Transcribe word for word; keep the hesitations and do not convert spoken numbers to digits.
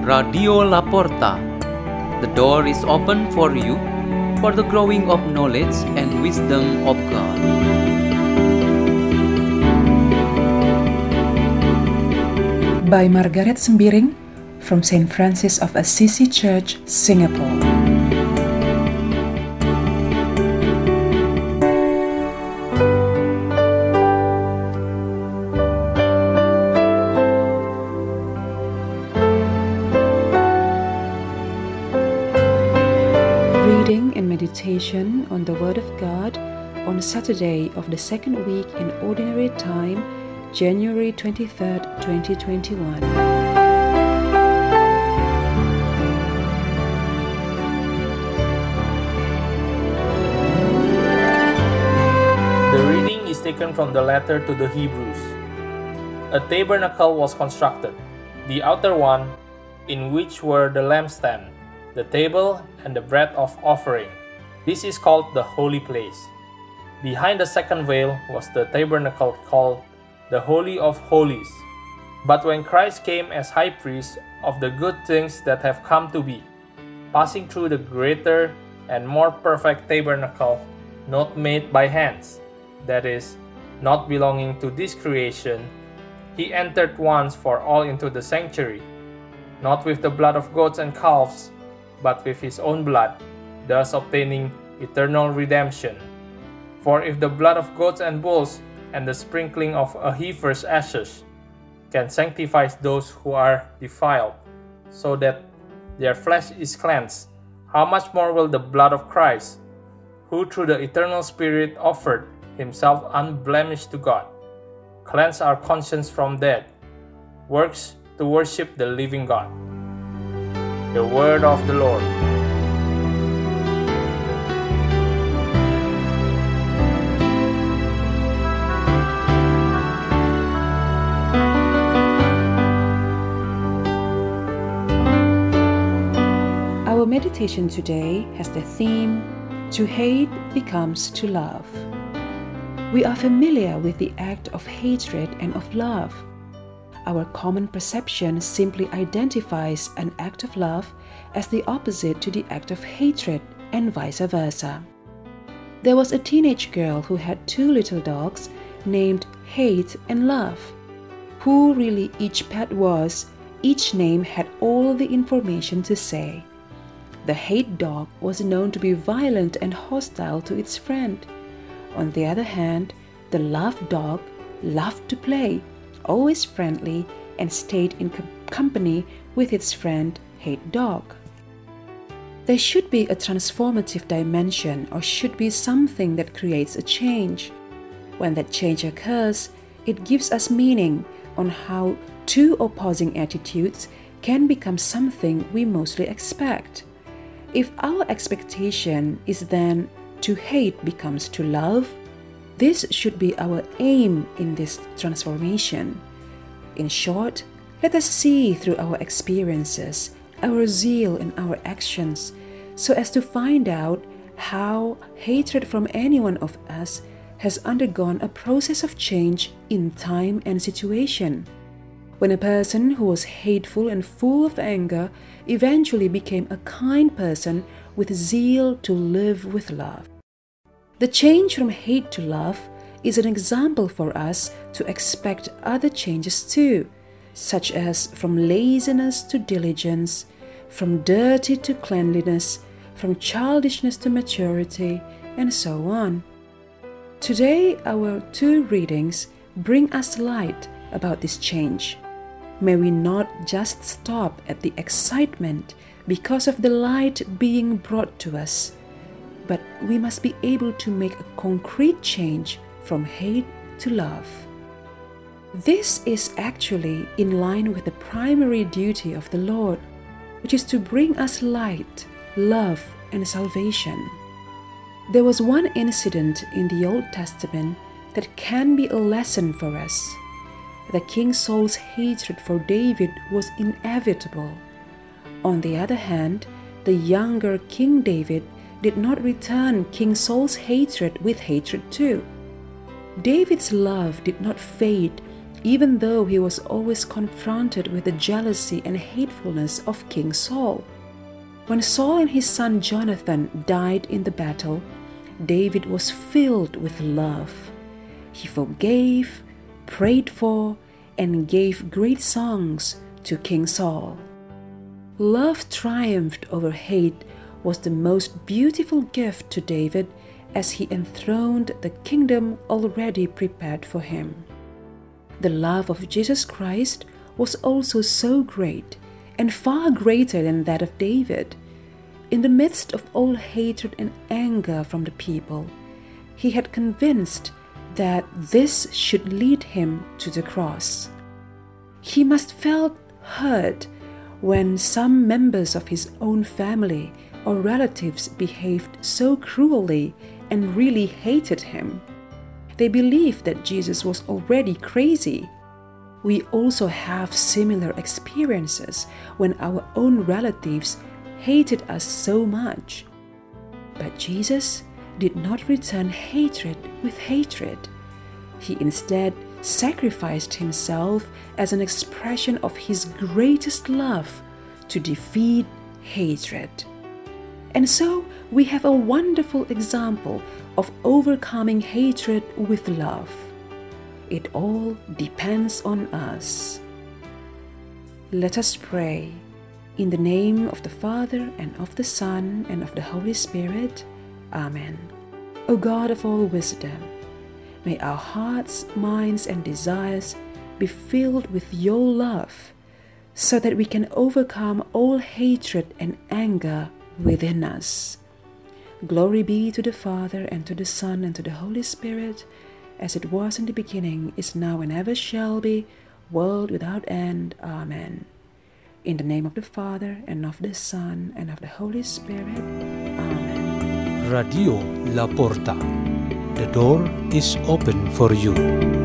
Radio Laporta. The door is open for you for the growing of knowledge and wisdom of God. By Margaret Sembiring from Saint Francis of Assisi Church, Singapore. Reading and meditation on the Word of God on Saturday of the second week in Ordinary Time, January twenty-third, twenty twenty-one. The reading is taken from the letter to the Hebrews. A tabernacle was constructed, the outer one, in which were the lampstand, the table, and the bread of offering. This is called the holy place. Behind the second veil was the tabernacle called the Holy of Holies. But when Christ came as high priest of the good things that have come to be, passing through the greater and more perfect tabernacle, not made by hands, that is, not belonging to this creation, he entered once for all into the sanctuary, not with the blood of goats and calves, but with his own blood, thus obtaining eternal redemption. For if the blood of goats and bulls and the sprinkling of a heifer's ashes can sanctify those who are defiled, so that their flesh is cleansed, how much more will the blood of Christ, who through the eternal Spirit offered himself unblemished to God, cleanse our conscience from dead works to worship the living God. The word of the Lord. Our meditation today has the theme, To Hate Becomes to Love. We are familiar with the act of hatred and of love. Our common perception simply identifies an act of love as the opposite to the act of hatred and vice versa. There was a teenage girl who had two little dogs named Hate and Love. Who really each pet was, each name had all the information to say. The hate dog was known to be violent and hostile to its friend. On the other hand, the love dog loved to play, always friendly, and stayed in com- company with its friend hate dog. There should be a transformative dimension or should be something that creates a change. When that change occurs, it gives us meaning on how two opposing attitudes can become something we mostly expect. If our expectation is then to hate becomes to love, this should be our aim in this transformation. In short, let us see through our experiences, our zeal and our actions, so as to find out how hatred from any one of us has undergone a process of change in time and situation. When a person who was hateful and full of anger eventually became a kind person with zeal to live with love. The change from hate to love is an example for us to expect other changes too, such as from laziness to diligence, from dirty to cleanliness, from childishness to maturity, and so on. Today, our two readings bring us light about this change. May we not just stop at the excitement because of the light being brought to us, but we must be able to make a concrete change from hate to love. This is actually in line with the primary duty of the Lord, which is to bring us light, love, and salvation. There was one incident in the Old Testament that can be a lesson for us. The King Saul's hatred for David was inevitable. On the other hand, the younger King David did not return King Saul's hatred with hatred too. David's love did not fade even though he was always confronted with the jealousy and hatefulness of King Saul. When Saul and his son Jonathan died in the battle, David was filled with love. He forgave, prayed for, and gave great songs to King Saul. Love triumphed over hate was the most beautiful gift to David as he enthroned the kingdom already prepared for him. The love of Jesus Christ was also so great and far greater than that of David. In the midst of all hatred and anger from the people, he had convinced that this should lead him to the cross. He must felt hurt when some members of his own family or relatives behaved so cruelly and really hated him. They believed that Jesus was already crazy. We also have similar experiences when our own relatives hated us so much. But Jesus did not return hatred with hatred. He instead sacrificed himself as an expression of his greatest love to defeat hatred. And so we have a wonderful example of overcoming hatred with love. It all depends on us. Let us pray. In the name of the Father, and of the Son, and of the Holy Spirit. Amen. O God of all wisdom, may our hearts, minds, and desires be filled with your love, so that we can overcome all hatred and anger within us. Glory be to the Father, and to the Son, and to the Holy Spirit, as it was in the beginning, is now, and ever shall be, world without end. Amen. In the name of the Father, and of the Son, and of the Holy Spirit. Amen. Radio La Porta. The door is open for you.